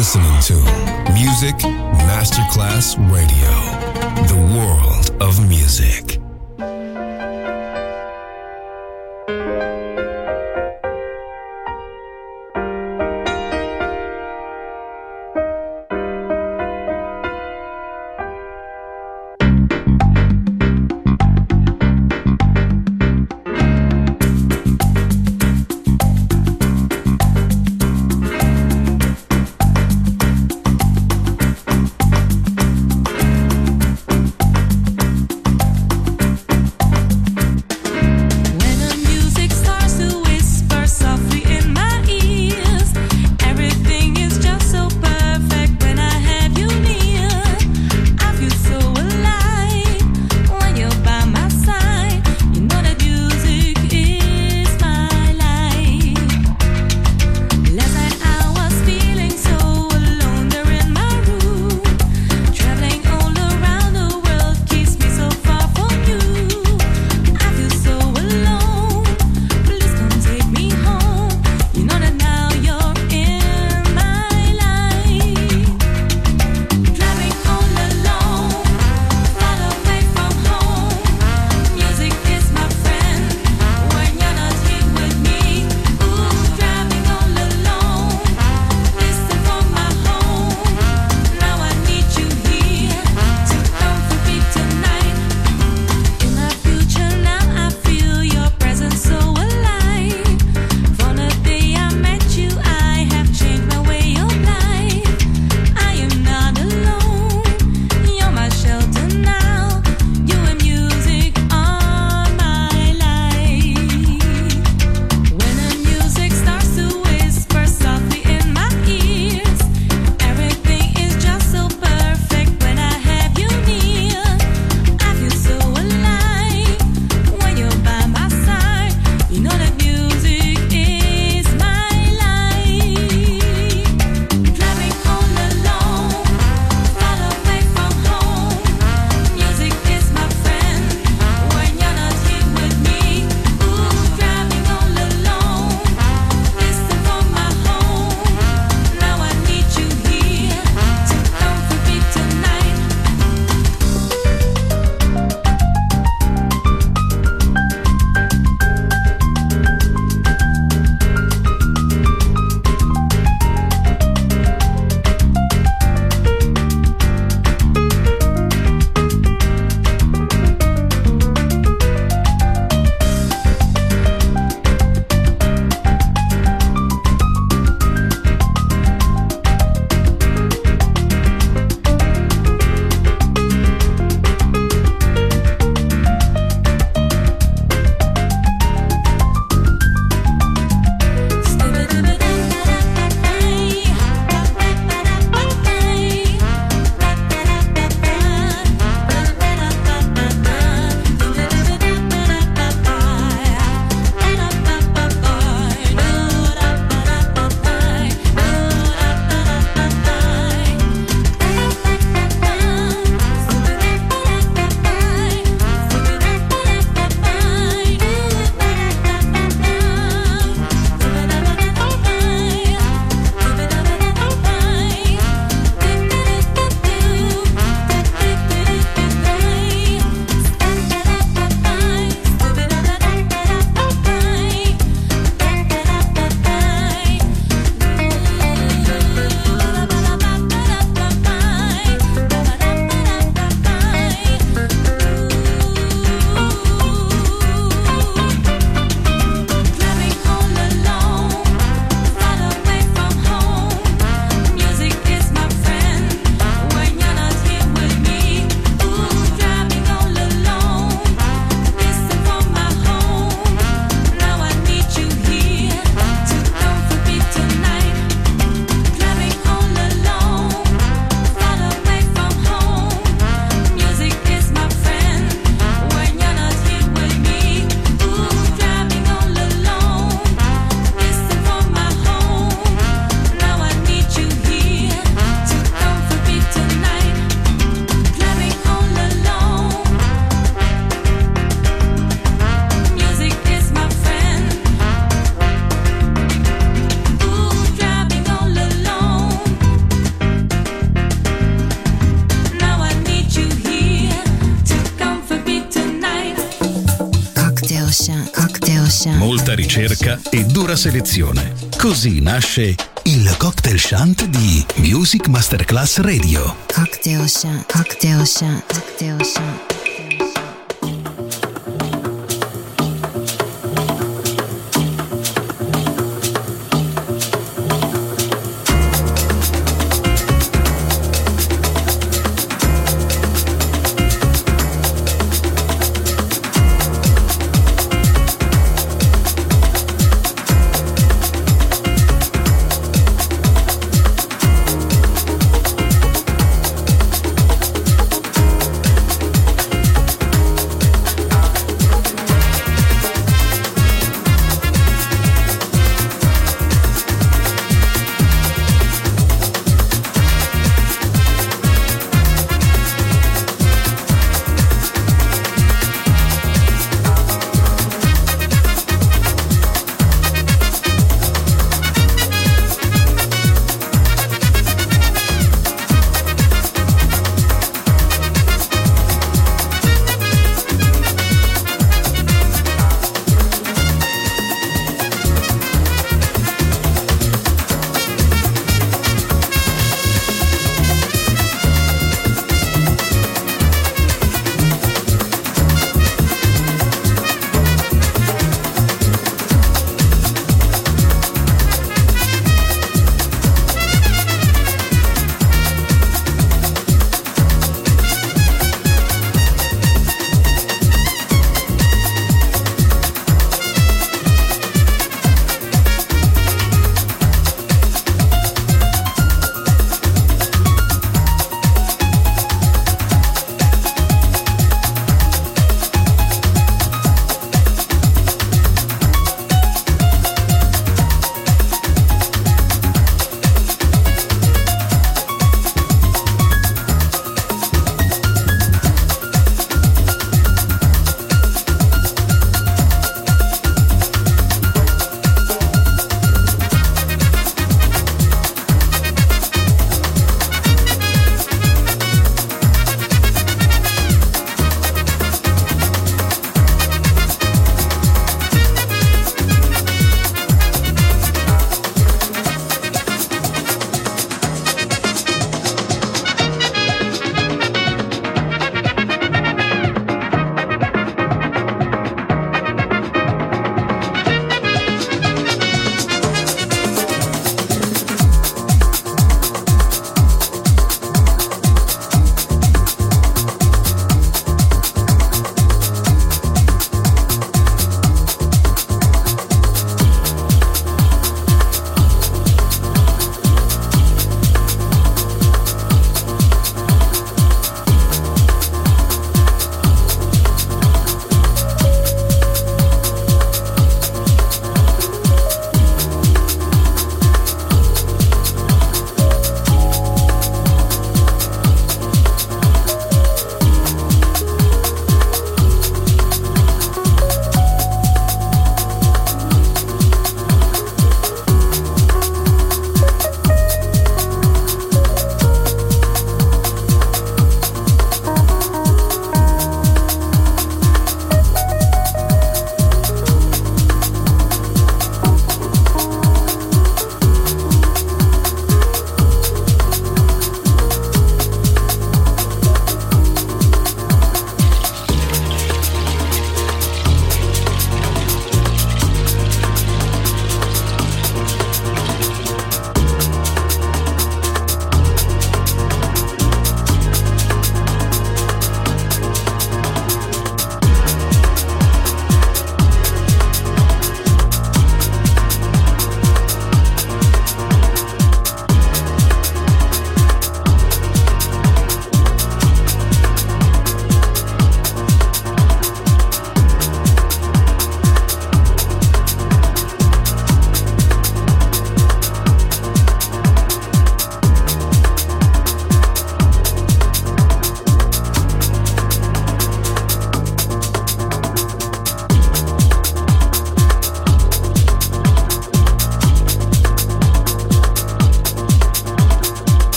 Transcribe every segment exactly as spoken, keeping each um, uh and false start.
listening to Music Masterclass Radio, the world of music. shant, cocktail shant. Molta ricerca e dura selezione. Così nasce il Cocktail Shant di Music Masterclass Radio. Cocktail shant, cocktail shant, cocktail shant.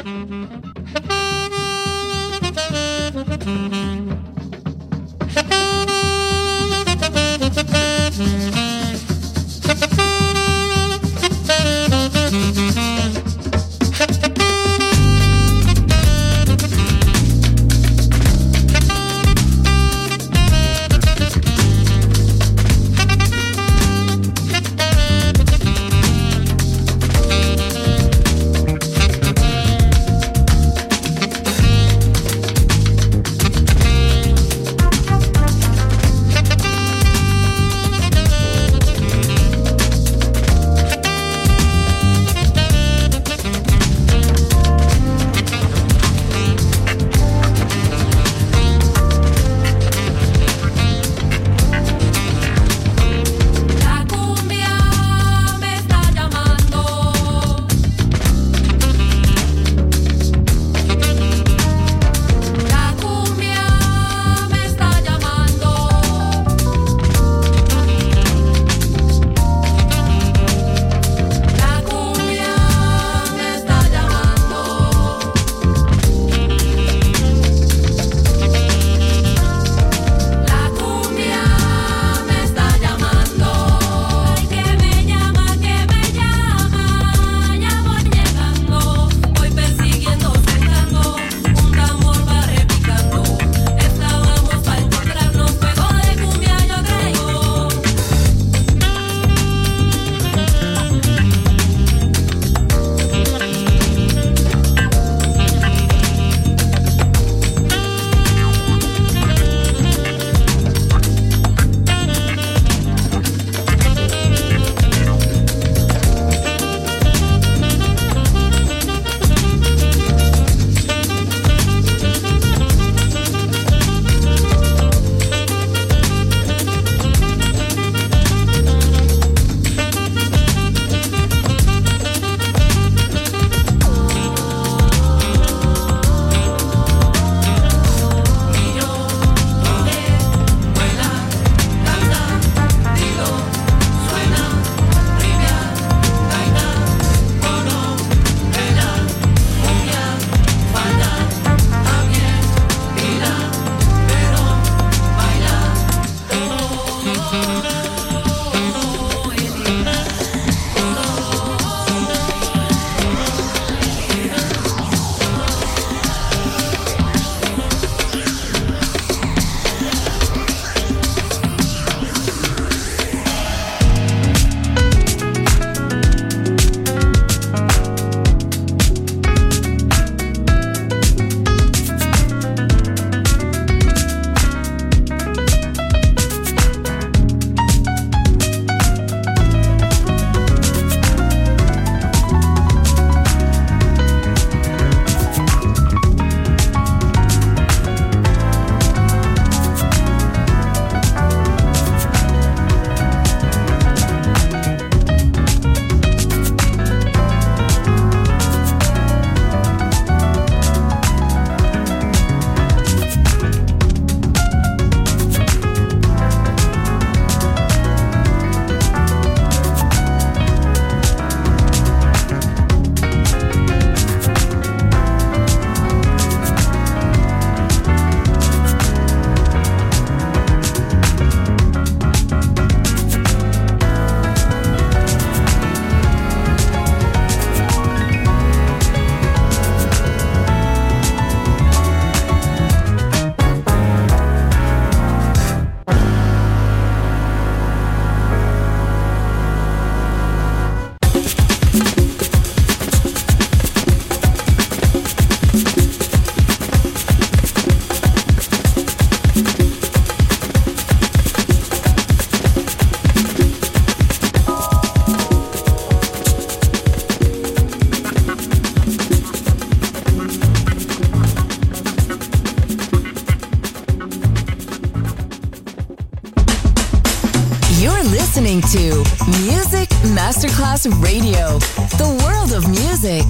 listening to Music Masterclass Radio, the world of music.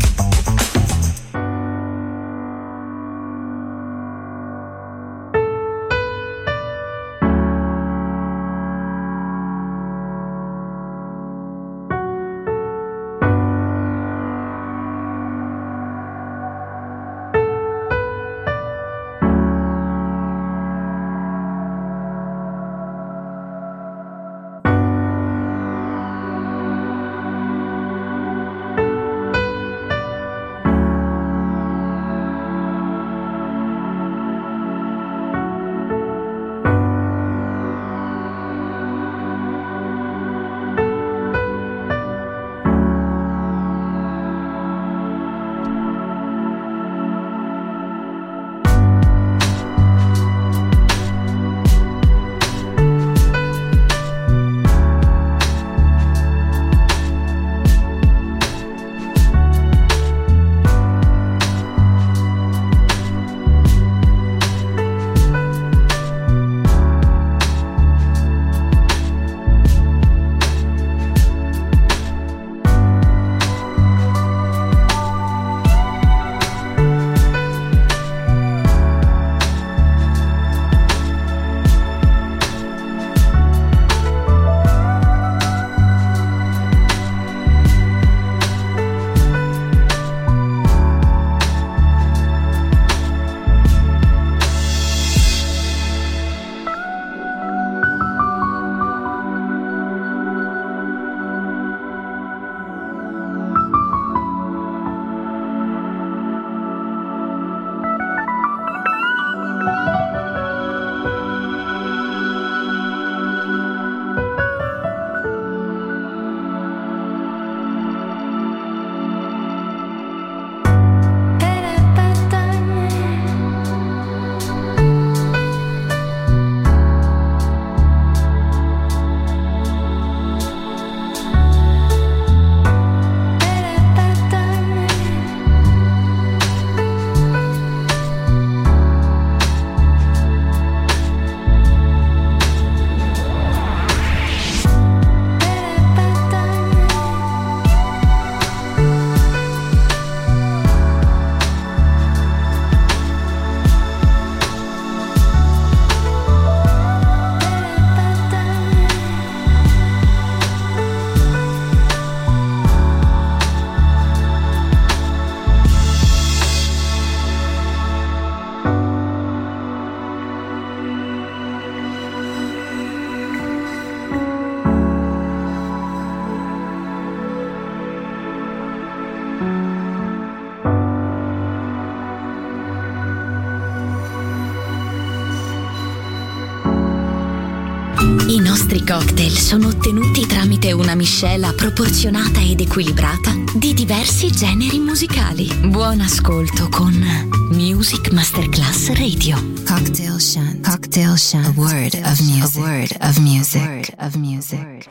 nostri cocktail sono ottenuti tramite una miscela proporzionata ed equilibrata di diversi generi musicali. Buon ascolto con Music Masterclass Radio. Cocktail Shant. Cocktail Shant. A word of music. A word of music. A word of music.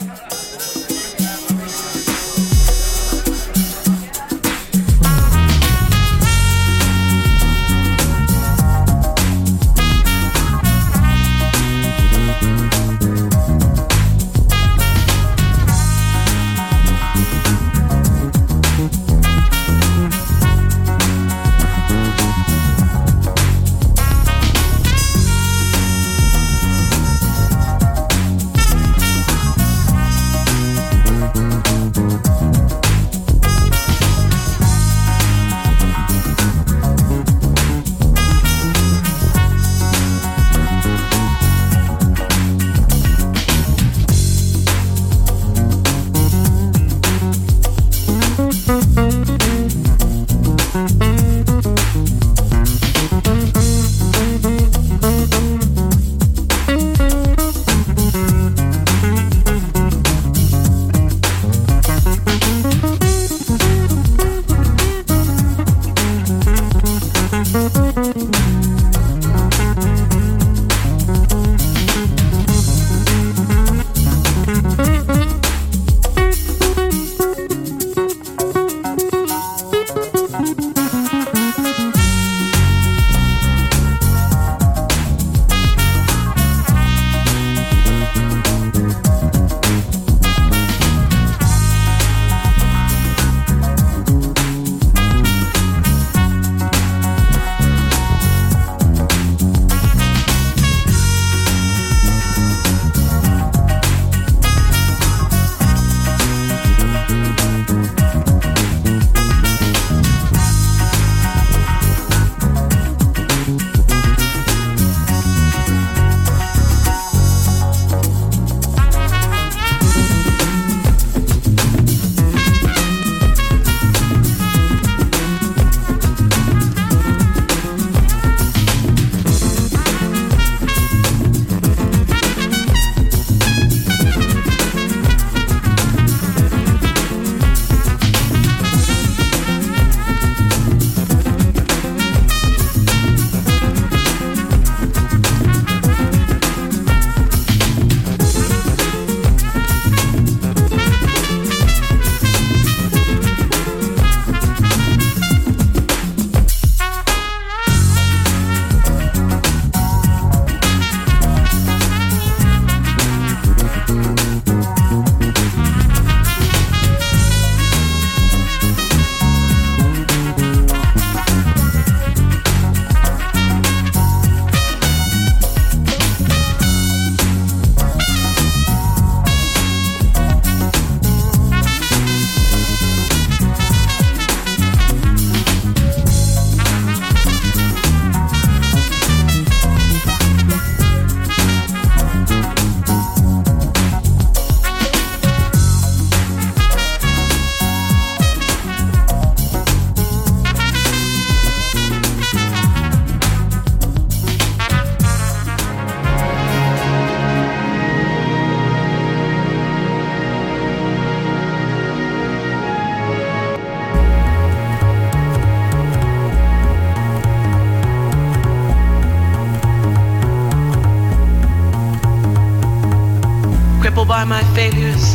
By my failures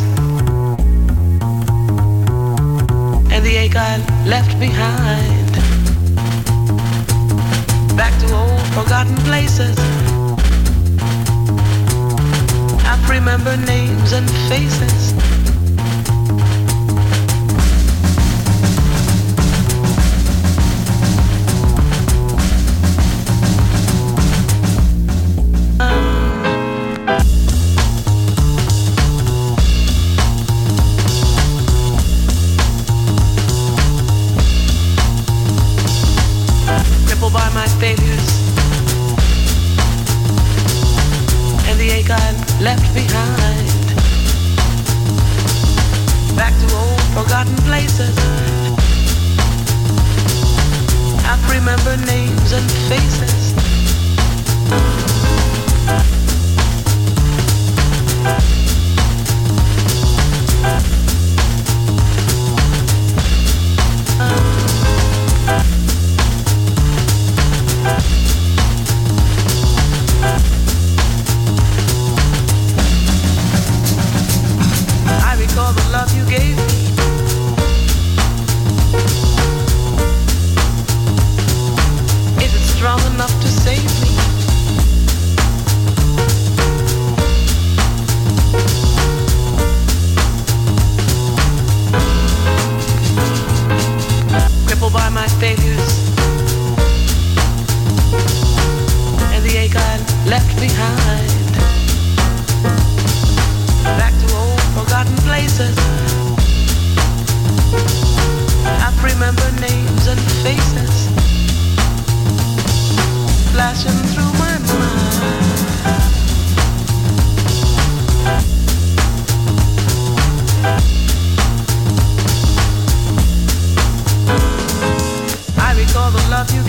and the ache I left behind, back to old forgotten places. I remember names and faces. Left behind, back to old forgotten places. I remember names and faces.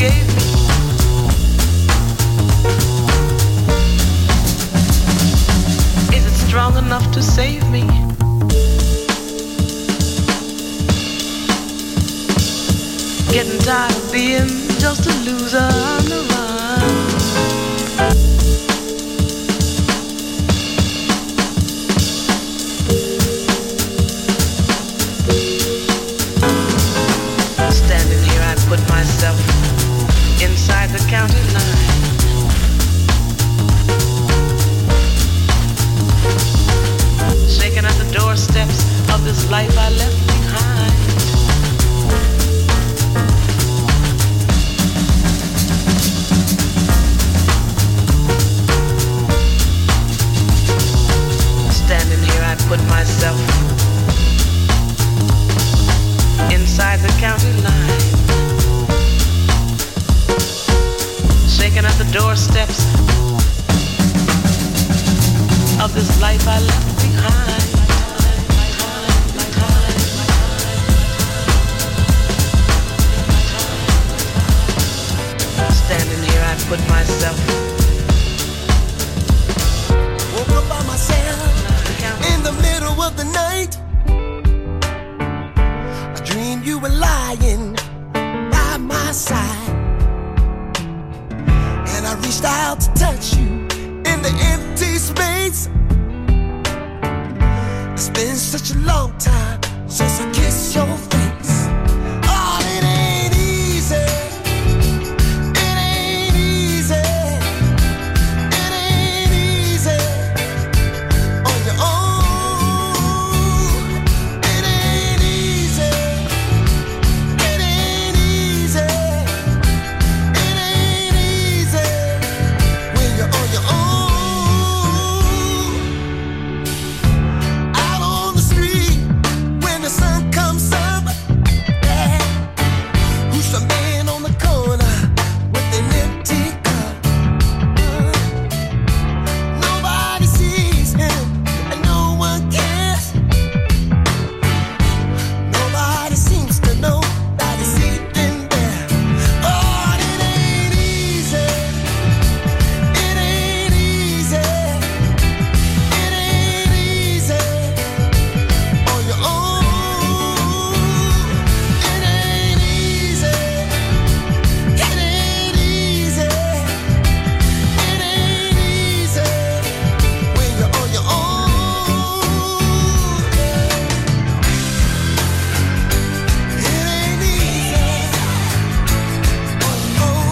gave me. Is it strong enough to save me? Getting tired of being just a loser on the run. Standing here, I put myself inside the county line. Shaking at the doorsteps of this life I left behind. Standing here, I put myself inside the county line. Shaking at the doorsteps of this life I left behind. Standing here, I put myself. Woke up by myself in the middle of the night. I dreamed you were lying by my side, and I reached out to touch you in the empty space. It's been such a long time since I kissed your face. Oh, it ain't easy. It ain't easy. It ain't easy on your own. It ain't easy. It ain't easy. It ain't easy when you're on your own. Out on the street when the sun comes up, yeah. Who's the man on the corner with an empty cup? Uh, Nobody sees him and no one cares. Nobody seems to know that he's sleeping there. Oh, it ain't easy. It ain't easy. It ain't easy on your own. It ain't easy. It ain't easy. It ain't easy when you're on your own. It ain't easy on your own.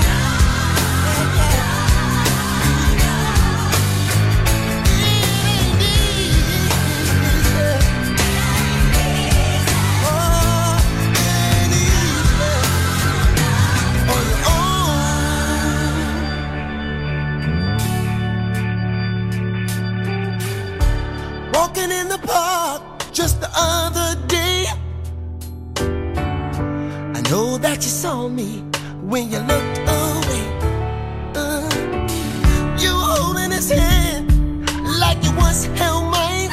Walking in the park just the other day, I know that you saw me when you looked away. Uh, you were holding his hand like you once held mine,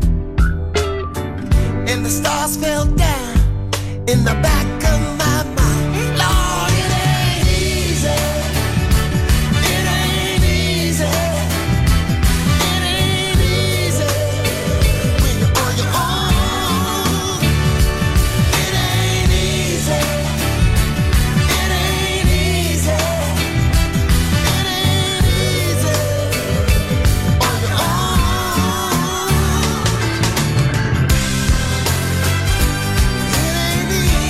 and the stars fell down in the back of my mind. Lord, it ain't easy. It ain't easy. It ain't easy when you're on your own. It ain't easy. It ain't easy. It ain't easy on your own. It ain't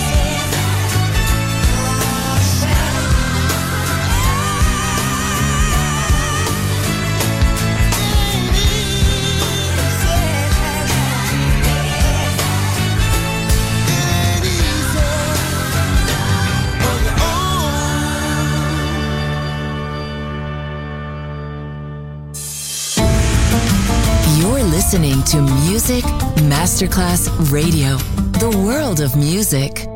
You're listening to Music Masterclass Radio, the world of music.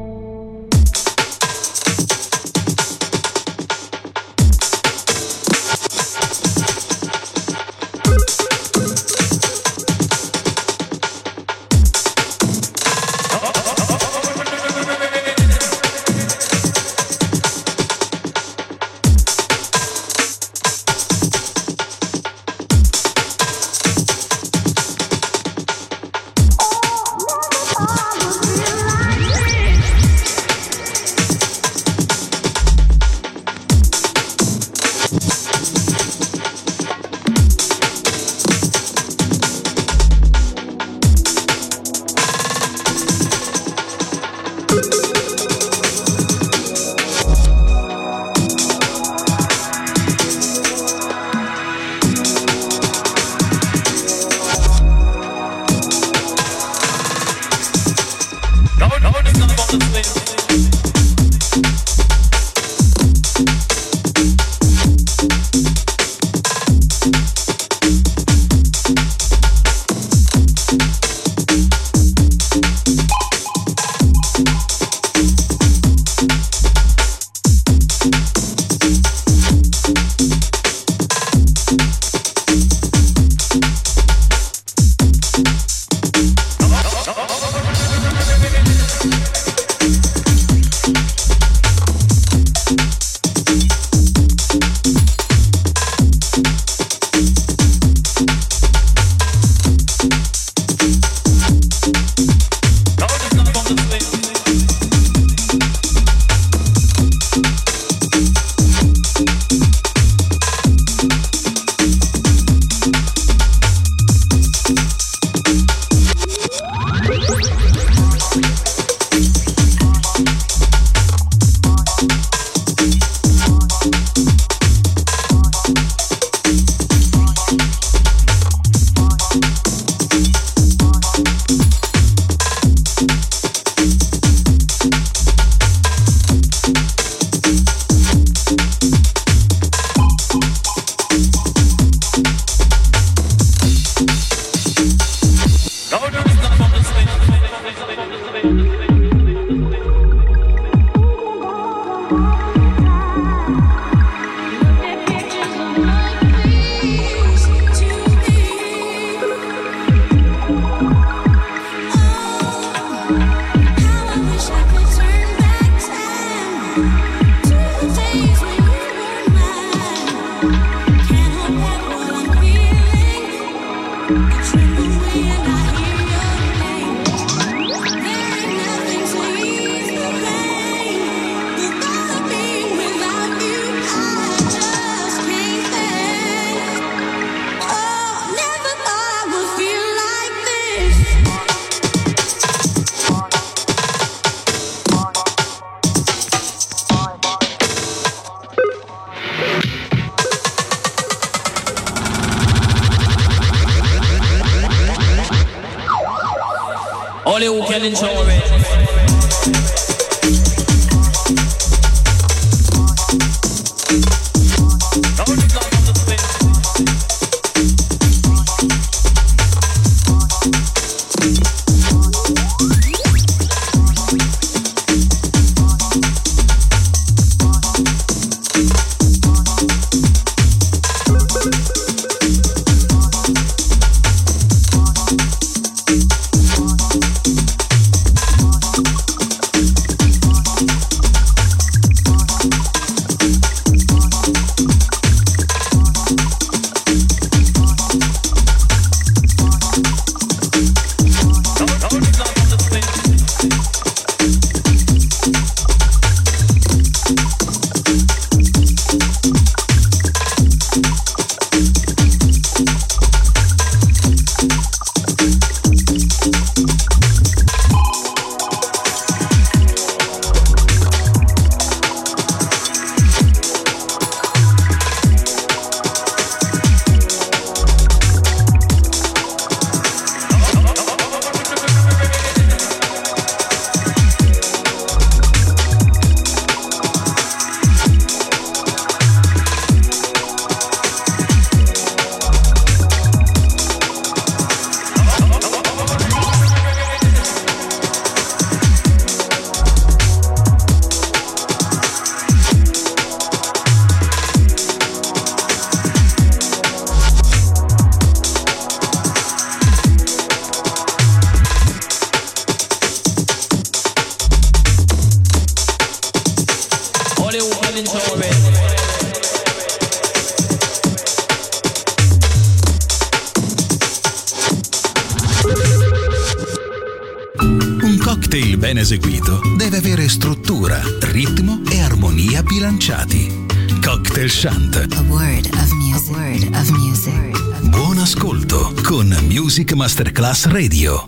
Ben eseguito deve avere struttura, ritmo e armonia bilanciati. Cocktail Chant. A word of music. A word of music. Buon ascolto con Music Masterclass Radio.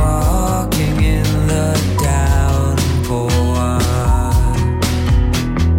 Walking in the downpour,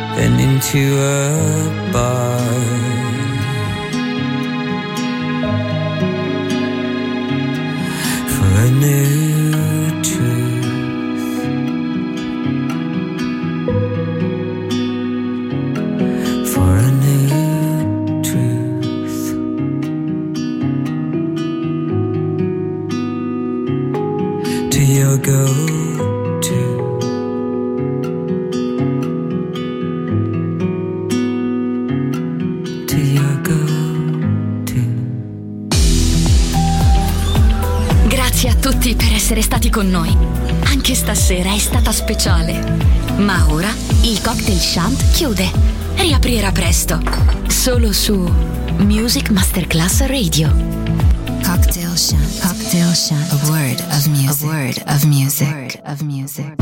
then into a bar. For a new truth, for a new truth, to your go-to. To your go-to. Grazie a tutti per essere stati con noi. Anche stasera è stata speciale. Ma ora il Cocktail Shant chiude. Riaprirà presto. Solo su Music Masterclass Radio. Cocktail Shant. Cocktail Shant. A word of music. A word of music. A word of music.